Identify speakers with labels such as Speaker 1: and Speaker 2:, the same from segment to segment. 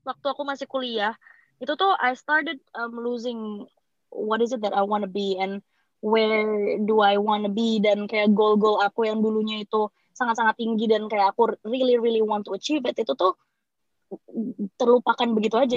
Speaker 1: waktu aku masih kuliah, itu tuh I started losing what is it that I wanna be and where do I wanna be, dan kayak goal-goal aku yang dulunya itu sangat-sangat tinggi dan kayak aku really really want to achieve it, itu tuh terlupakan begitu aja.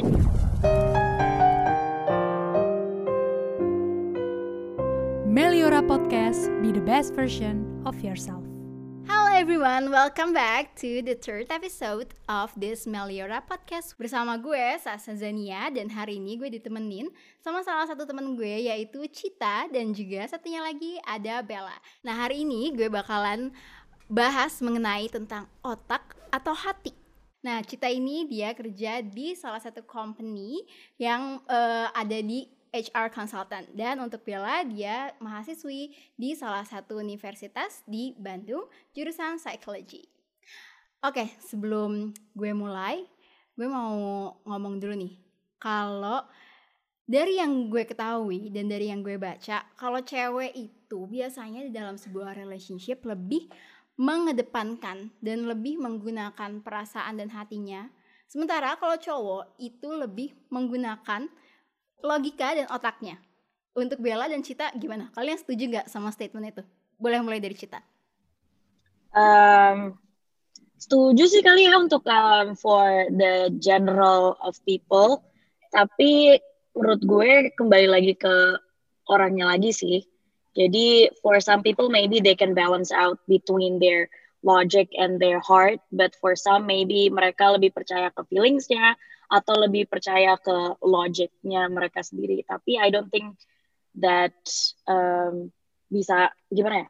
Speaker 2: Meliora Podcast, be the best version of yourself.
Speaker 3: Hello everyone, welcome back to the third episode of this Meliora Podcast. Bersama gue, Sasa Zania, dan hari ini gue ditemenin sama salah satu temen gue yaitu Cita, dan juga satunya lagi ada Bella. Nah, hari ini gue bakalan bahas mengenai tentang otak atau hati. Nah, Cita ini dia kerja di salah satu company yang ada di HR consultant, dan untuk Bella dia mahasiswi di salah satu universitas di Bandung jurusan psychology. Oke, sebelum gue mulai, gue mau ngomong dulu nih. Kalau dari yang gue ketahui dan dari yang gue baca, kalau cewek itu biasanya di dalam sebuah relationship lebih mengedepankan dan lebih menggunakan perasaan dan hatinya. Sementara kalau cowok itu lebih menggunakan logika dan otaknya. Untuk Bella dan Cita gimana? Kalian setuju gak sama statement itu? Boleh mulai dari Cita.
Speaker 1: Setuju sih kali ya untuk for the general of people. Tapi menurut gue kembali lagi ke orangnya lagi sih. Jadi for some people maybe they can balance out between their logic and their heart, but for some maybe mereka lebih percaya ke feelingsnya atau lebih percaya ke logicnya mereka sendiri. Tapi I don't think that bisa gimana ya?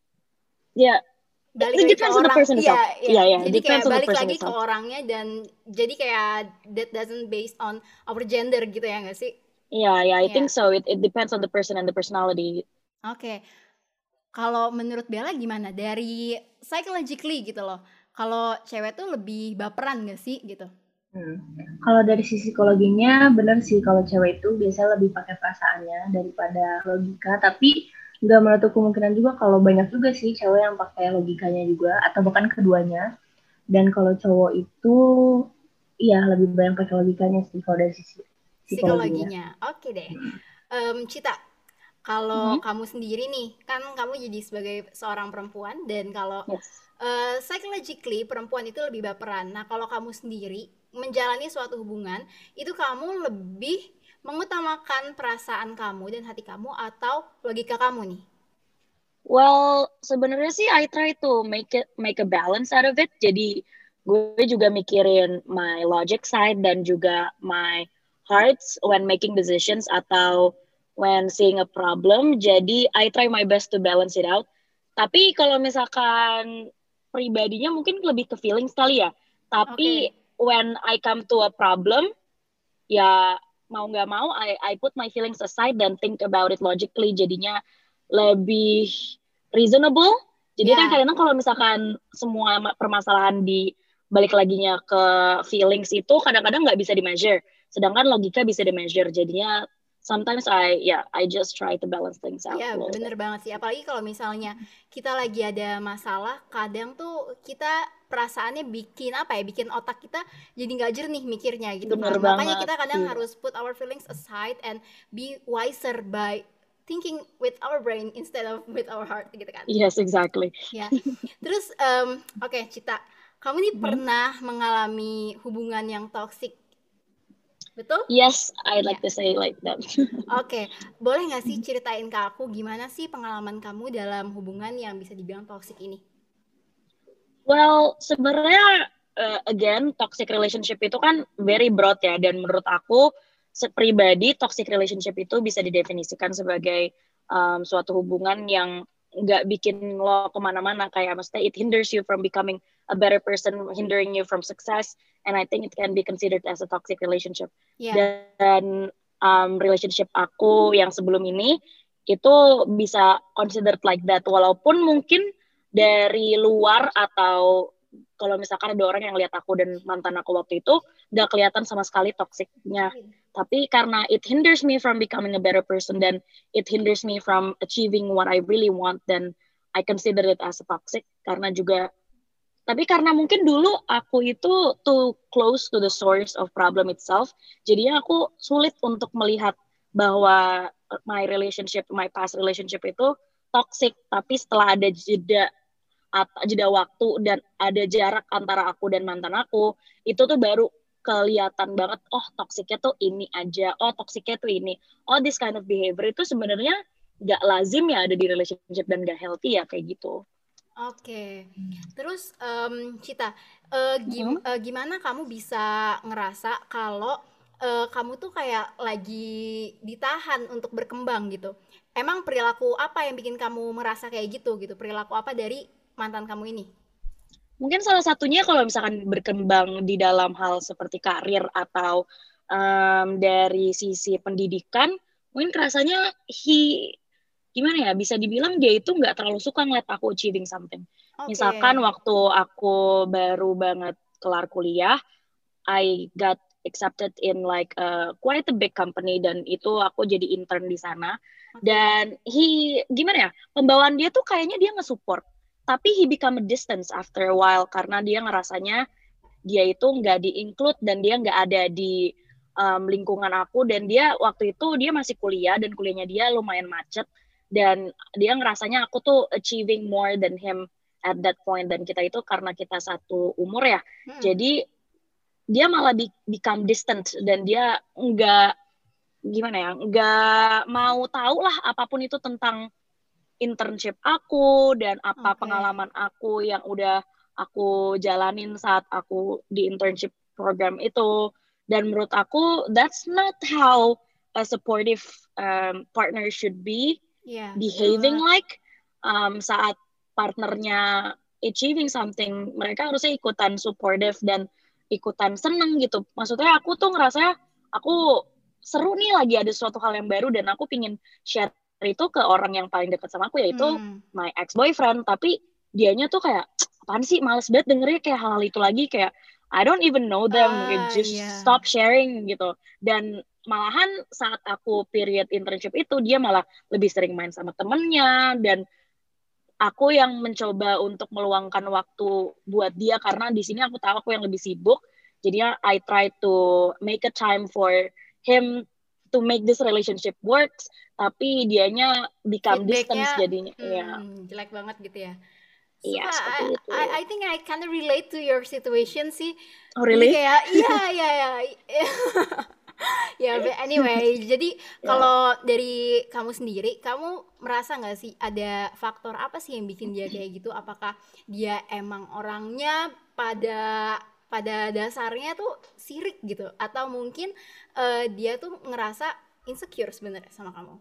Speaker 1: Ya,
Speaker 3: Balik
Speaker 1: it
Speaker 3: lagi ke
Speaker 1: depends on the
Speaker 3: orang,
Speaker 1: person itself.
Speaker 3: iya. Jadi
Speaker 1: Depends
Speaker 3: kayak
Speaker 1: on the
Speaker 3: balik
Speaker 1: person
Speaker 3: lagi ke
Speaker 1: itself.
Speaker 3: orangnya, dan jadi kayak that doesn't based on our gender gitu ya nggak sih?
Speaker 1: Yeah, I think so. It depends on the person and the personality.
Speaker 3: Oke. Kalau menurut Bella gimana? Dari psychologically gitu loh. Kalau cewek tuh lebih baperan nggak sih gitu?
Speaker 4: Kalau dari sisi psikologinya benar sih, kalau cewek itu biasanya lebih pakai perasaannya daripada logika, tapi nggak menutup kemungkinan juga kalau banyak juga sih cewek yang pakai logikanya juga atau bahkan keduanya. Dan kalau cowok itu iya lebih banyak pakai logikanya sih kalau dari sisi psikologinya.
Speaker 3: Oke deh. Cita, kalau kamu sendiri nih, kan kamu jadi sebagai seorang perempuan, dan kalau psychologically perempuan itu lebih baperan. Nah, kalau kamu sendiri menjalani suatu hubungan, itu kamu lebih mengutamakan perasaan kamu dan hati kamu atau logika kamu nih?
Speaker 1: Well, sebenarnya sih I try to make a balance out of it. Jadi gue juga mikirin my logic side dan juga my hearts when making decisions atau when seeing a problem. Jadi I try my best to balance it out. Tapi kalau misalkan pribadinya mungkin lebih ke feeling sekali ya. Tapi when I come to a problem, ya mau nggak mau I put my feelings aside dan think about it logically. Jadinya lebih reasonable. Jadi kan kadang-kadang kalau misalkan semua permasalahan di balik laginya ke feelings itu kadang-kadang nggak bisa di-measure. Sedangkan logika bisa di-measure. Jadinya sometimes I just try to balance things out.
Speaker 3: Iya, bener banget sih. Apalagi kalau misalnya kita lagi ada masalah, kadang tuh kita perasaannya bikin bikin otak kita jadi nggak jernih mikirnya gitu kan. Makanya kita kadang harus put our feelings aside and be wiser by thinking with our brain instead of with our heart gitu kan.
Speaker 1: Yes, exactly.
Speaker 3: Ya. Terus Cita, kamu nih pernah mengalami hubungan yang toksik? Betul?
Speaker 1: Yes, I'd like to say like that.
Speaker 3: Oke, boleh nggak sih ceritain ke aku gimana sih pengalaman kamu dalam hubungan yang bisa dibilang toksik ini?
Speaker 1: Well, sebenarnya again toxic relationship itu kan very broad ya, dan menurut aku pribadi toxic relationship itu bisa didefinisikan sebagai suatu hubungan yang nggak bikin lo kemana-mana, kayak maksudnya it hinders you from becoming a better person, hindering you from success, and I think it can be considered as a toxic relationship. Dan relationship aku yang sebelum ini itu bisa considered like that, walaupun mungkin dari luar atau kalau misalkan ada orang yang lihat aku dan mantan aku waktu itu nggak kelihatan sama sekali toksiknya, tapi karena it hinders me from becoming a better person dan it hinders me from achieving what I really want, then I consider it as a toxic. Karena juga Tapi karena mungkin dulu aku itu too close to the source of problem itself, jadinya aku sulit untuk melihat bahwa my past relationship itu toxic. Tapi setelah ada jeda waktu dan ada jarak antara aku dan mantan aku, itu tuh baru kelihatan banget, oh toksiknya tuh ini aja, oh toksiknya tuh ini, oh this kind of behavior itu sebenarnya gak lazim ya ada di relationship dan gak healthy ya kayak gitu.
Speaker 3: Oke, terus Cita,
Speaker 1: Mm-hmm.
Speaker 3: gimana kamu bisa ngerasa kalau kamu tuh kayak lagi ditahan untuk berkembang gitu? Emang perilaku apa yang bikin kamu merasa kayak gitu gitu? Perilaku apa dari mantan kamu ini?
Speaker 1: Mungkin salah satunya kalau misalkan berkembang di dalam hal seperti karir atau dari sisi pendidikan, mungkin rasanya gimana ya, bisa dibilang dia itu nggak terlalu suka ngeliat aku achieving something. Misalkan
Speaker 3: Oke,
Speaker 1: waktu aku baru banget kelar kuliah, I got accepted in like quite a big company dan itu aku jadi intern di sana.
Speaker 3: oke.
Speaker 1: Dan gimana ya, pembawaan dia tuh kayaknya dia nge-support. Tapi he become a distance after a while karena dia ngerasanya dia itu nggak di-include dan dia nggak ada di lingkungan aku. Dan dia waktu itu dia masih kuliah dan kuliahnya dia lumayan macet. Dan dia ngerasanya aku tuh achieving more than him at that point. Dan kita itu karena kita satu umur ya,
Speaker 3: Mm-mm.
Speaker 1: jadi dia malah become distant dan dia nggak gimana ya, nggak mau tahu lah apapun itu tentang internship aku dan apa
Speaker 3: Oke.
Speaker 1: pengalaman aku yang udah aku jalanin saat aku di internship program itu. Dan menurut aku that's not how a supportive partner should be
Speaker 3: Iya, betul
Speaker 1: behaving
Speaker 3: banget.
Speaker 1: like. Saat partnernya achieving something, mereka harusnya ikutan supportive dan ikutan seneng gitu. Maksudnya aku tuh ngerasa aku seru nih lagi ada suatu hal yang baru dan aku pingin share itu ke orang yang paling dekat sama aku, yaitu
Speaker 3: Hmm.
Speaker 1: my ex boyfriend. Tapi dianya tuh kayak apaan sih, males banget dengernya kayak hal-hal itu lagi, kayak I don't even know them, just
Speaker 3: Iya.
Speaker 1: stop sharing gitu. Dan malahan saat aku period internship itu dia malah lebih sering main sama temennya dan aku yang mencoba untuk meluangkan waktu buat dia karena di sini aku tahu aku yang lebih sibuk. Jadinya I try to make a time for him to make this relationship works, tapi dianya become distance
Speaker 3: Feedbacknya
Speaker 1: jadinya. Ya,
Speaker 3: jelek banget gitu ya.
Speaker 1: iya
Speaker 3: Suka,
Speaker 1: seperti itu.
Speaker 3: I think I kind of relate to your situation sih.
Speaker 1: Oh
Speaker 3: Jadi
Speaker 1: really?
Speaker 3: kayak iya iya iya. Ya, but anyway, jadi
Speaker 1: Ya.
Speaker 3: kalau dari kamu sendiri, kamu merasa nggak sih ada faktor apa sih yang bikin dia kayak gitu? Apakah dia emang orangnya pada pada dasarnya tuh sirik gitu, atau mungkin dia tuh ngerasa insecure sebenarnya sama kamu?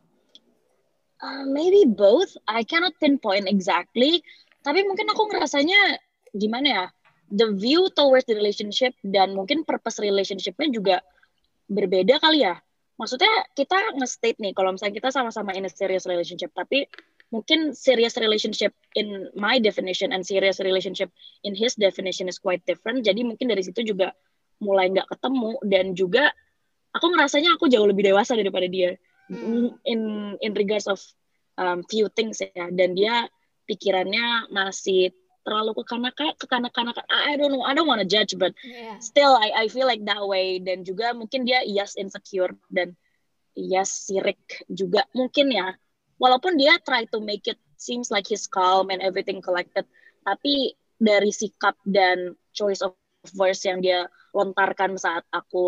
Speaker 1: Maybe both. I cannot pinpoint exactly. Tapi mungkin aku ngerasanya gimana ya? The view towards the relationship dan mungkin purpose relationshipnya juga berbeda kali ya. Maksudnya kita nge-state nih kalau misalnya kita sama-sama in a serious relationship, tapi mungkin serious relationship in my definition and serious relationship in his definition is quite different. Jadi mungkin dari situ juga mulai nggak ketemu dan juga aku ngerasanya aku jauh lebih dewasa daripada dia
Speaker 3: Hmm.
Speaker 1: in regards of few things ya. Dan dia pikirannya masih terlalu kekanak-kanakan. I don't know, I don't want to judge, but
Speaker 3: Yeah.
Speaker 1: still I feel like that way. Dan juga mungkin dia yes insecure dan yes sirik juga mungkin ya. Walaupun dia try to make it seems like he's calm and everything collected, tapi dari sikap dan choice of words yang dia lontarkan saat aku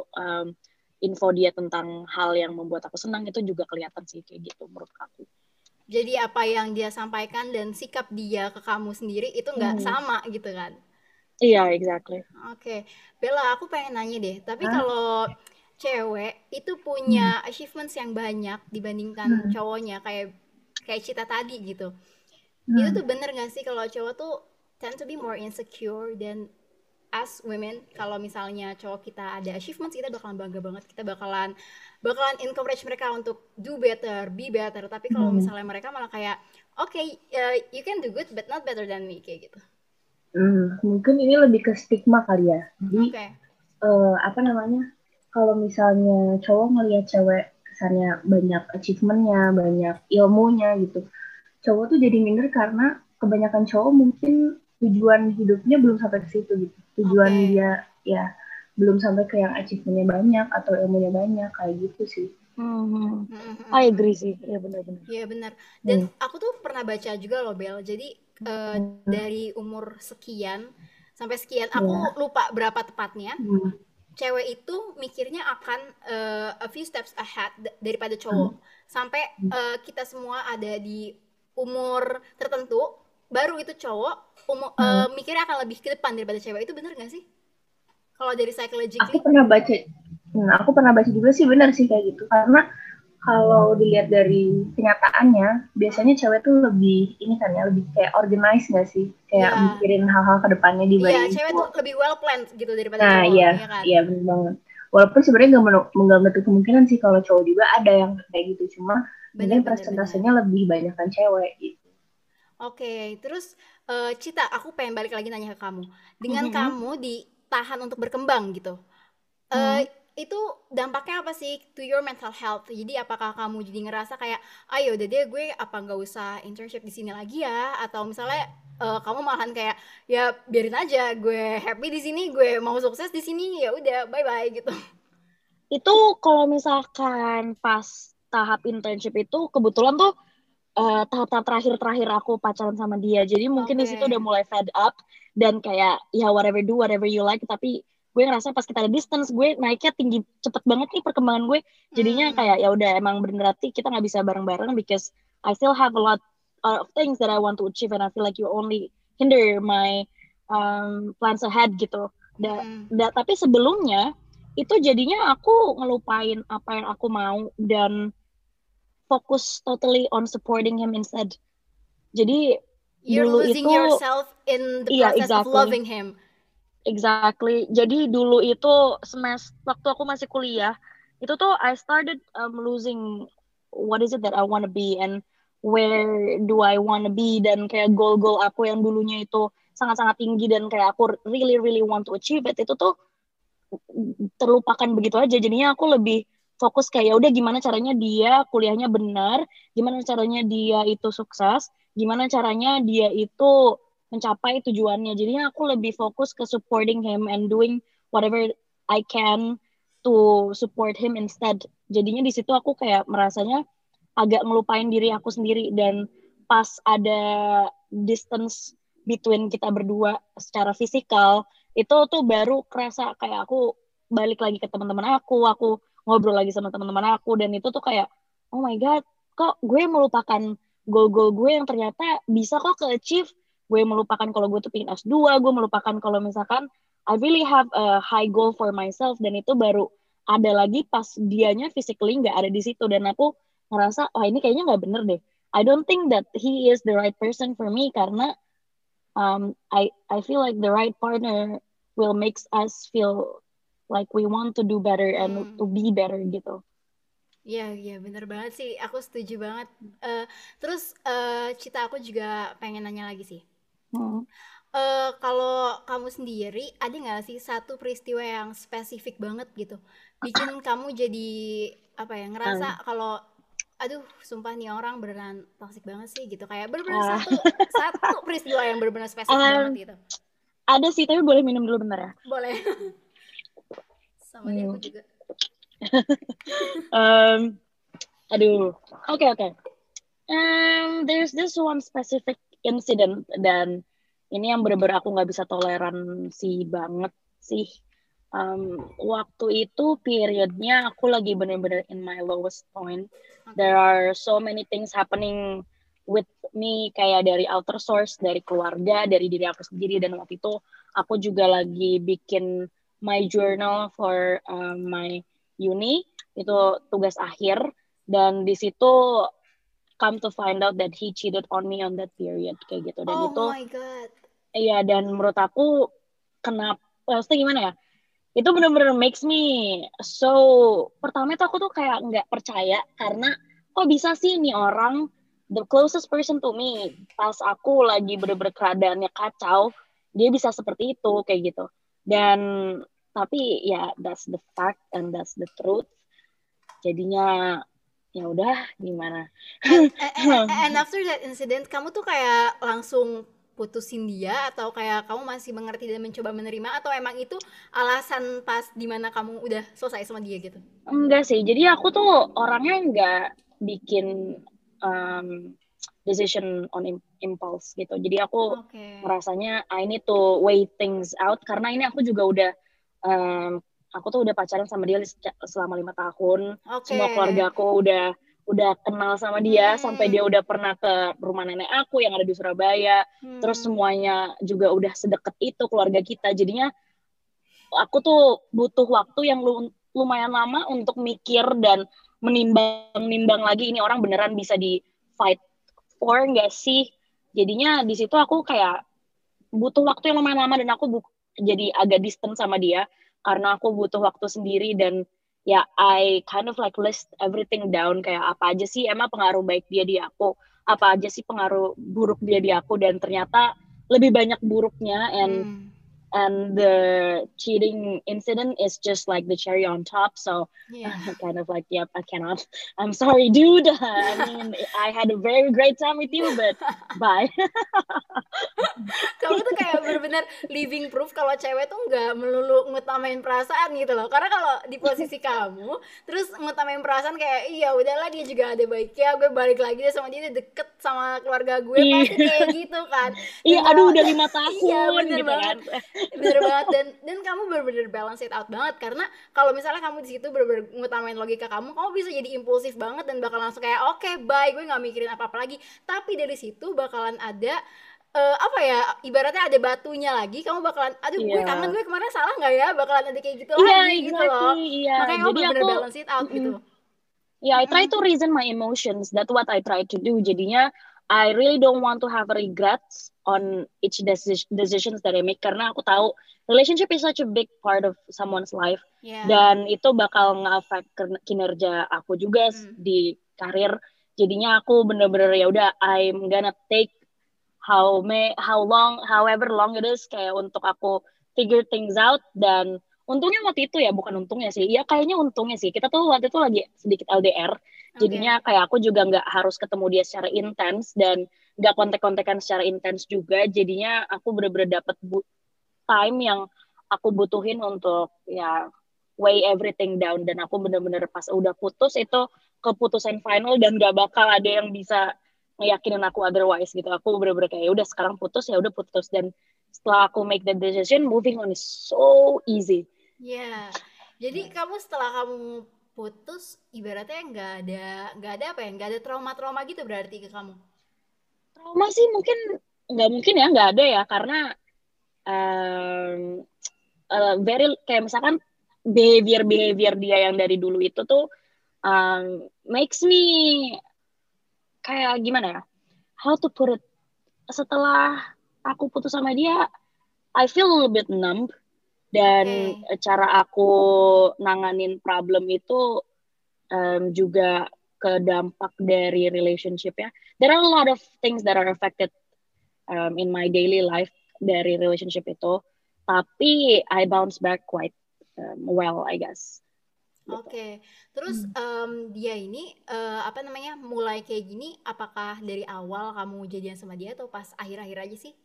Speaker 1: info dia tentang hal yang membuat aku senang itu juga kelihatan sih kayak gitu menurut aku.
Speaker 3: Jadi apa yang dia sampaikan dan sikap dia ke kamu sendiri itu nggak
Speaker 1: Hmm.
Speaker 3: sama gitu kan?
Speaker 1: Iya, exactly.
Speaker 3: Oke, Bella, aku pengen nanya deh. Tapi
Speaker 4: Hah?
Speaker 3: kalau cewek itu
Speaker 4: Hmm.
Speaker 3: punya achievements yang banyak dibandingkan
Speaker 4: Hmm.
Speaker 3: cowoknya, kayak kayak Cita tadi gitu. Itu
Speaker 4: Hmm.
Speaker 3: tuh bener gak sih kalau cowok tuh tend to be more insecure dan as women kalau misalnya cowok kita ada achievements kita bakalan bangga banget, kita bakalan bakalan encourage mereka untuk do better, be better. Tapi kalau
Speaker 4: Hmm.
Speaker 3: misalnya mereka malah kayak okay, you can do good but not better than me kayak gitu.
Speaker 4: Mungkin ini lebih ke stigma kali ya. Jadi
Speaker 3: Oke.
Speaker 4: apa namanya? Kalau misalnya cowok ngelihat cewek kesannya banyak achievementnya, banyak ilmunya gitu, cowok tuh jadi minder karena kebanyakan cowok mungkin tujuan hidupnya belum sampai ke situ gitu. Tujuan
Speaker 3: Oke.
Speaker 4: dia ya belum sampai ke yang achievement-nya banyak atau ilmunya banyak kayak gitu sih.
Speaker 1: Hmm. I
Speaker 3: Mm-mm.
Speaker 1: agree sih, ya benar-benar.
Speaker 3: Iya benar. Dan
Speaker 4: Hmm.
Speaker 3: aku tuh pernah baca juga loh Bel. Jadi dari umur sekian sampai sekian,
Speaker 4: Ya.
Speaker 3: aku lupa berapa tepatnya.
Speaker 4: Hmm.
Speaker 3: Cewek itu mikirnya akan a few steps ahead daripada
Speaker 4: Hmm.
Speaker 3: cowok. Sampai kita semua ada di umur tertentu, baru itu cowok
Speaker 4: Hmm.
Speaker 3: mikirnya akan lebih ke depan daripada cewek. Itu bener gak sih? Kalau dari
Speaker 4: Aku
Speaker 3: psychologically?
Speaker 4: pernah baca, aku pernah baca juga sih benar sih kayak gitu. Karena kalau dilihat dari kenyataannya,
Speaker 3: Mm-mm.
Speaker 4: biasanya cewek tuh lebih ini kan ya, lebih kayak organize nggak sih? Kayak
Speaker 3: Iya,
Speaker 4: mikirin hal-hal ke depannya
Speaker 3: iya,
Speaker 4: dibanding
Speaker 3: cewek tuh
Speaker 4: cowok.
Speaker 3: lebih well planned gitu daripada
Speaker 4: Nah,
Speaker 3: cowok,
Speaker 4: iya,
Speaker 3: iya kan?
Speaker 4: iya benar banget. Walaupun sebenarnya nggak menutup kemungkinan sih kalau cowok juga ada yang kayak gitu. Cuma
Speaker 3: Bener,
Speaker 4: mungkin
Speaker 3: bener, bener.
Speaker 4: persentasenya lebih banyak kan cewek gitu.
Speaker 3: Oke, terus Cita, aku pengen balik lagi nanya ke kamu. Dengan
Speaker 1: Mhm.
Speaker 3: kamu ditahan untuk berkembang gitu,
Speaker 1: Mhm.
Speaker 3: itu dampaknya apa sih to your mental health? Jadi apakah kamu jadi ngerasa kayak, ayo udah deh gue apa nggak usah internship di sini lagi ya? Atau misalnya kamu malahan kayak, ya biarin aja, gue happy di sini, gue mau sukses di sini, ya udah bye bye gitu.
Speaker 1: Itu kalau misalkan pas tahap internship itu kebetulan tuh tahap-tahap terakhir-terakhir aku pacaran sama dia. Jadi mungkin di
Speaker 3: Oke.
Speaker 1: situ udah mulai fed up dan kayak ya whatever do whatever you like. Tapi gue ngerasa pas kita ada distance gue naiknya tinggi cepet banget nih perkembangan gue. Jadinya
Speaker 3: Hmm.
Speaker 1: kayak ya udah emang berarti kita nggak bisa bareng-bareng because I still have a lot of things that I want to achieve and I feel like you only hinder my plans ahead gitu.
Speaker 3: Mm-mm.
Speaker 1: Tapi sebelumnya itu jadinya aku ngelupain apa yang aku mau dan fokus totally on supporting him instead. Jadi
Speaker 3: You're
Speaker 1: dulu
Speaker 3: losing
Speaker 1: itu
Speaker 3: yourself in the
Speaker 1: iya
Speaker 3: process of
Speaker 1: exactly
Speaker 3: loving him.
Speaker 1: exactly. Jadi dulu itu semester waktu aku masih kuliah itu tuh I started losing what is it that I want to be and where do I want to be dan kayak goal-goal aku yang dulunya itu sangat-sangat tinggi dan kayak aku really really want to achieve it itu tuh terlupakan begitu aja. Jadinya aku lebih fokus kayak ya udah gimana caranya dia kuliahnya benar, gimana caranya dia itu sukses, gimana caranya dia itu mencapai tujuannya. Jadinya aku lebih fokus ke supporting him and doing whatever I can to support him instead. Jadinya di situ aku kayak merasanya agak ngelupain diri aku sendiri dan pas ada distance between kita berdua secara fisikal itu tuh baru kerasa kayak aku balik lagi ke teman-teman aku ngobrol lagi sama teman-teman aku dan itu tuh kayak oh my god kok gue melupakan goal-goal gue yang ternyata bisa kok ke-achieve gue melupakan kalau gue tuh pengen S2 gue melupakan kalau misalkan I really have a high goal for myself dan itu baru ada lagi pas dianya physically nggak ada di situ dan aku ngerasa oh ini kayaknya nggak bener deh I don't think that he is the right person for me karena I feel like the right partner will makes us feel like we want to do better and
Speaker 3: Hmm.
Speaker 1: to be better gitu.
Speaker 3: Iya, iya, bener banget sih. Aku setuju banget. Terus Cita, aku juga pengen nanya lagi sih.
Speaker 1: Hmm.
Speaker 3: Kalau kamu sendiri, ada nggak sih satu peristiwa yang spesifik banget gitu, bikin kamu jadi apa ya,
Speaker 1: Um,
Speaker 3: ngerasa kalau, aduh, sumpah nih orang beneran toxic banget sih gitu, kayak bener-bener
Speaker 1: uh,
Speaker 3: satu satu peristiwa yang bener-bener spesifik banget
Speaker 1: um,
Speaker 3: gitu.
Speaker 1: ada sih tapi boleh minum dulu bentar ya.
Speaker 3: Boleh. Sama deh
Speaker 1: Hmm.
Speaker 3: aku juga.
Speaker 1: Um, aduh, oke oke. There's this one specific incident dan ini yang bener-bener aku nggak bisa toleransi banget sih. Waktu itu periodnya aku lagi bener-bener in my lowest point. There
Speaker 3: Oke.
Speaker 1: are so many things happening with me kayak dari outer source, dari keluarga, dari diri aku sendiri dan waktu itu aku juga lagi bikin my journal for my uni itu tugas akhir dan di situ come to find out that he cheated on me on that period kayak gitu dan
Speaker 3: Oh
Speaker 1: itu
Speaker 3: my god.
Speaker 1: iya dan menurut aku kenapa maksudnya gimana ya itu bener-bener makes me so pertama itu aku tuh kayak nggak percaya karena kok bisa sih nih orang the closest person to me pas aku lagi bener-bener keadaannya kacau dia bisa seperti itu kayak gitu dan tapi ya that's the fact and that's the truth jadinya ya udah gimana
Speaker 3: And after that incident, kamu tuh kayak langsung putusin dia, atau kayak kamu masih mengerti dan mencoba menerima, atau emang itu alasan pas dimana kamu udah selesai sama dia gitu?
Speaker 1: Enggak sih, jadi aku tuh orangnya nggak bikin decision on impulse gitu. Jadi aku
Speaker 3: Oke.
Speaker 1: merasanya I need to weigh things out, karena ini aku juga udah aku tuh udah pacaran sama dia selama 5 tahun.
Speaker 3: Oke.
Speaker 1: Semua keluarga aku udah kenal sama dia, sampai dia udah pernah ke rumah nenek aku yang ada di Surabaya. Terus semuanya juga udah sedekat itu keluarga kita. Jadinya aku tuh butuh waktu yang lumayan lama untuk mikir dan menimbang lagi ini orang beneran bisa di fight for nggak sih. Jadinya di situ aku kayak butuh waktu yang lumayan lama, dan aku jadi agak distant sama dia karena aku butuh waktu sendiri. Dan ya I kind of like list everything down, kayak apa aja sih emang pengaruh baik dia di aku, apa aja sih pengaruh buruk dia di aku, dan ternyata lebih banyak buruknya. And the cheating incident is just like the cherry on top. So kind of like, yep, I cannot. I'm sorry, dude. I mean, I had a very great time with you, but bye.
Speaker 3: Kamu tuh kayak bener-bener living proof kalau cewek tuh nggak melulu ngutamain perasaan gitu loh. Karena kalau di posisi kamu terus ngutamain perasaan kayak iya udahlah dia juga ada baiknya, gue balik lagi deh sama dia, deket sama keluarga gue, pasti kayak gitu kan.
Speaker 1: Iya, aduh udah 5 tahun
Speaker 3: iya, bener
Speaker 1: gitu
Speaker 3: banget.
Speaker 1: kan.
Speaker 3: Bener banget, dan kamu bener-bener balance it out banget, karena kalau misalnya kamu di situ bener-bener ngutamain logika kamu bisa jadi impulsif banget dan bakal langsung kayak oke, bye, gue nggak mikirin apa-apa lagi. Tapi dari situ bakalan ada apa ya, ibaratnya ada batunya lagi, kamu bakalan aduh gue kangen, gue kemarin salah nggak ya, bakalan ada kayak gitu lagi gitu loh. Makanya kamu
Speaker 1: Jadi
Speaker 3: bener-bener
Speaker 1: aku
Speaker 3: balance it out gitu.
Speaker 1: I try to reason my emotions. That's what I try to do. Jadinya I really don't want to have regrets on each decisions that I make, karena aku tahu relationship is such a big part of someone's life. Dan itu bakal nge-affect kinerja aku juga di karir. Jadinya aku bener-bener ya udah, I'm gonna take however long it is, kayak untuk aku figure things out. Dan untungnya waktu itu ya, bukan untungnya sih, ya kayaknya untungnya sih, kita tuh waktu itu lagi sedikit LDR, jadinya kayak aku juga nggak harus ketemu dia secara intens dan nggak kontek-kontekan secara intens juga. Jadinya aku bener-bener dapet time yang aku butuhin untuk ya weigh everything down. Dan aku bener-bener pas udah putus itu keputusan final, dan nggak bakal ada yang bisa ngeyakinin aku otherwise gitu. Aku bener-bener kayak udah sekarang putus, ya udah putus. Dan setelah aku make the decision, moving on is so easy.
Speaker 3: Jadi kamu setelah kamu putus ibaratnya nggak ada apa ya, nggak ada trauma gitu berarti ke kamu?
Speaker 1: Trauma sih mungkin ya nggak ada ya, karena very kayak misalkan behavior dia yang dari dulu itu tuh makes me kayak gimana ya, how to put it, setelah aku putus sama dia I feel a little bit numb. Dan cara aku nanganin problem itu juga ke dampak dari relationship ya. There are a lot of things that are affected in my daily life dari relationship itu. Tapi I bounce back quite well, I guess.
Speaker 3: Gitu. Terus dia ini apa namanya, mulai kayak gini, apakah dari awal kamu jadian sama dia atau pas akhir-akhir aja sih?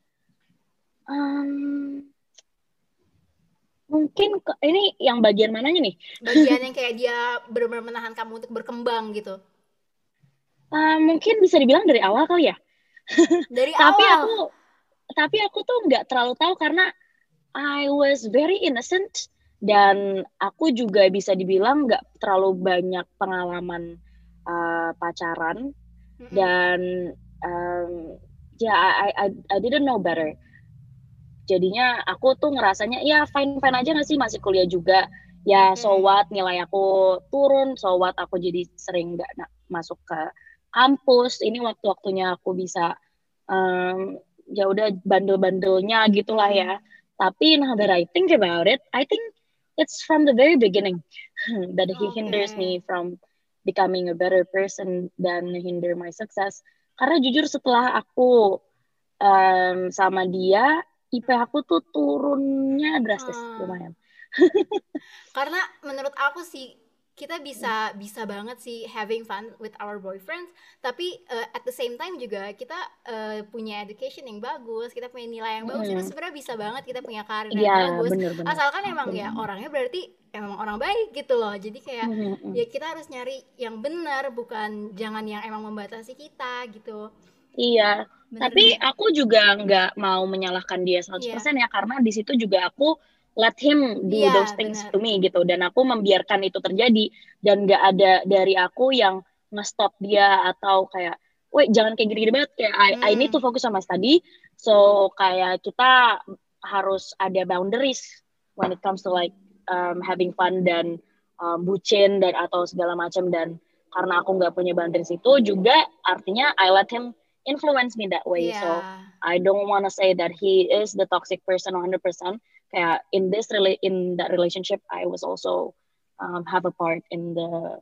Speaker 1: Mungkin ini yang bagian mananya nih?
Speaker 3: Bagian yang kayak dia benar-benar menahan kamu untuk berkembang gitu.
Speaker 1: Mungkin bisa dibilang dari awal kali ya.
Speaker 3: Dari awal.
Speaker 1: Tapi aku tuh nggak terlalu tahu, karena I was very innocent, dan aku juga bisa dibilang nggak terlalu banyak pengalaman pacaran. Dan I didn't know better. Jadinya aku tuh ngerasanya ya fine aja nggak sih, masih kuliah juga ya. So what, nilai aku turun, so what, aku jadi sering nggak masuk ke kampus. Ini waktunya aku bisa ya udah bandel-bandelnya gitulah ya. Tapi now that I think about it, I think it's from the very beginning that he hinders me from becoming a better person dan hinder my success. Karena jujur setelah aku sama dia, IP aku tuh turunnya drastis lumayan.
Speaker 3: Karena menurut aku sih kita bisa banget sih having fun with our boyfriends, tapi at the same time juga kita punya education yang bagus, kita punya nilai yang bagus, itu sebenarnya bisa banget kita punya karir yang
Speaker 1: Iya,
Speaker 3: bagus,
Speaker 1: bener-bener.
Speaker 3: asalkan emang ya orangnya berarti emang orang baik gitu loh. Jadi kayak ya kita harus nyari yang benar, bukan jangan yang emang membatasi kita gitu.
Speaker 1: Iya,
Speaker 3: Bener
Speaker 1: tapi
Speaker 3: deh.
Speaker 1: aku juga nggak mau menyalahkan dia 100% ya, karena di situ juga aku let him do
Speaker 3: Iya,
Speaker 1: those things
Speaker 3: benar.
Speaker 1: to me gitu, dan aku membiarkan itu terjadi, dan nggak ada dari aku yang nge-stop dia atau kayak, wait jangan kayak gini-gini banget, kayak I need to focus sama study, so kayak kita harus ada boundaries when it comes to like having fun dan bucin dan atau segala macam, dan karena aku nggak punya boundaries itu juga artinya I let him influence me that way.
Speaker 3: Iya.
Speaker 1: So I don't want to say that he is the toxic person 100%. Kayak in that relationship I was also have a part in the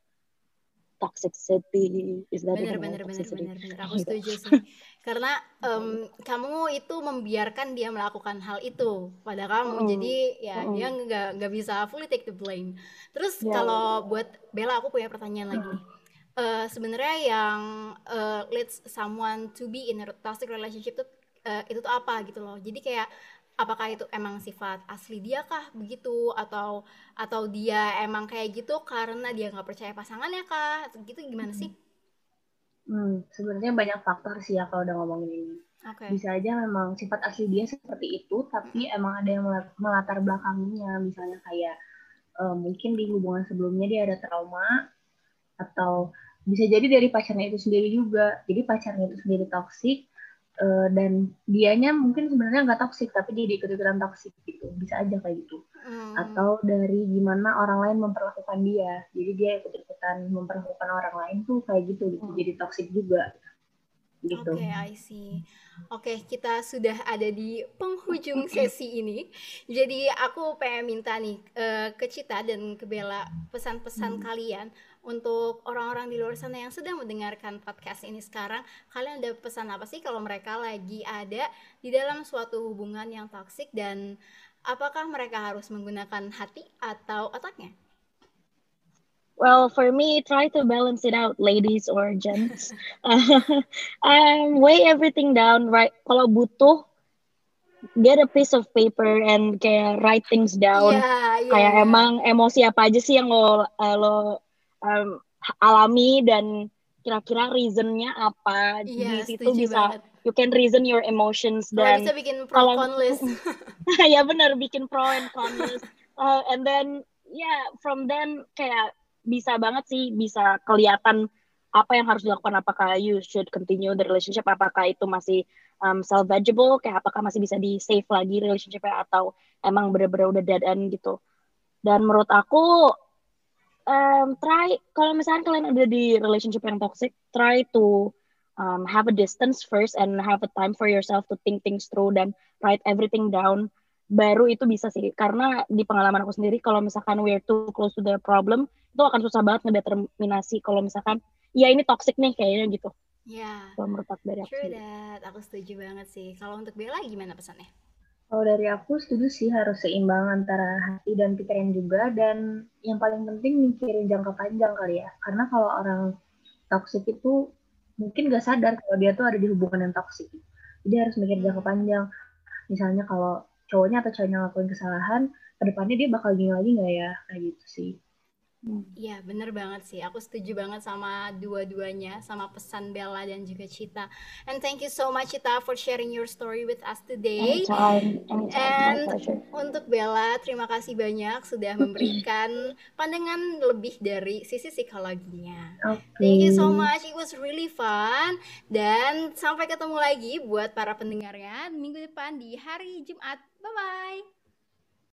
Speaker 1: toxicity. Is that even a word?
Speaker 3: Bener.
Speaker 1: Toxicity?
Speaker 3: Aku setuju sih. Karena kamu itu membiarkan dia melakukan hal itu pada kamu. Jadi ya dia nggak bisa fully take the blame. Terus kalau buat Bella, aku punya pertanyaan lagi nih. Sebenarnya yang leads someone to be in a toxic relationship itu tuh apa gitu loh. Jadi kayak apakah itu emang sifat asli dia kah begitu, atau dia emang kayak gitu karena dia nggak percaya pasangannya kah, gitu gimana sih?
Speaker 4: Sebenarnya banyak faktor sih ya kalau udah ngomongin ini. Bisa aja memang sifat asli dia seperti itu, tapi emang ada yang melatar belakangnya, misalnya kayak mungkin di hubungan sebelumnya dia ada trauma, atau bisa jadi dari pacarnya itu sendiri juga. Jadi pacarnya itu sendiri toksik, dan dianya mungkin sebenarnya nggak toksik tapi dia ikut-ikutan toksik gitu, bisa aja kayak gitu. Atau dari gimana orang lain memperlakukan dia, jadi dia ikut-ikutan memperlakukan orang lain tuh kayak gitu, jadi toksik juga gitu.
Speaker 3: Oke, I see. Oke, kita sudah ada di penghujung sesi ini. Jadi aku pengen minta nih ke Cita dan ke Bella pesan-pesan kalian untuk orang-orang di luar sana yang sedang mendengarkan podcast ini sekarang. Kalian ada pesan apa sih kalau mereka lagi ada di dalam suatu hubungan yang toksik, dan apakah mereka harus menggunakan hati atau otaknya?
Speaker 1: Well, for me, try to balance it out, ladies or gents. Weigh everything down, right? Kalau butuh, get a piece of paper and kayak write things down. Kayak emang emosi apa aja sih yang lo alami, dan kira-kira reasonnya apa. Di situ bisa banget. You can reason your emotions. Dan
Speaker 3: bisa bikin pro con list.
Speaker 1: Ya benar, bikin pro and con list. And then from then kayak bisa banget sih, bisa kelihatan apa yang harus dilakukan, apakah you should continue the relationship, apakah itu masih salvageable, kayak apakah masih bisa di save lagi relationship-nya, atau emang bener-bener udah dead end gitu. Dan menurut aku try, kalau misalnya kalian ada di relationship yang toxic, try to have a distance first and have a time for yourself to think things through dan write everything down. Baru itu bisa sih, karena di pengalaman aku sendiri kalau misalkan we're too close to the problem, itu akan susah banget ngedeterminasi kalau misalkan ya ini toxic nih kayaknya gitu. Kalau menurut aku dari aku
Speaker 3: sendiri. Aku setuju banget sih. Kalau untuk Bella gimana pesannya?
Speaker 4: Kalau dari aku setuju sih, harus seimbang antara hati dan pikiran juga, dan yang paling penting mikirin jangka panjang kali ya. Karena kalau orang toxic itu mungkin gak sadar kalau dia tuh ada di hubungan yang toxic. Jadi harus mikir jangka panjang. Misalnya kalau cowoknya atau cowoknya ngelakuin kesalahan, kedepannya dia bakal gini lagi nggak ya, kayak gitu sih.
Speaker 3: Iya, bener banget sih. Aku setuju banget sama dua-duanya, sama pesan Bella dan juga Cita. And thank you so much, Cita, for sharing your story with us today.
Speaker 1: Anytime.
Speaker 3: And untuk Bella, terima kasih banyak sudah memberikan pandangan lebih dari sisi psikologinya. Thank you so much, it was really fun. Dan sampai ketemu lagi buat para pendengarnya minggu depan di hari Jumat. Bye-bye.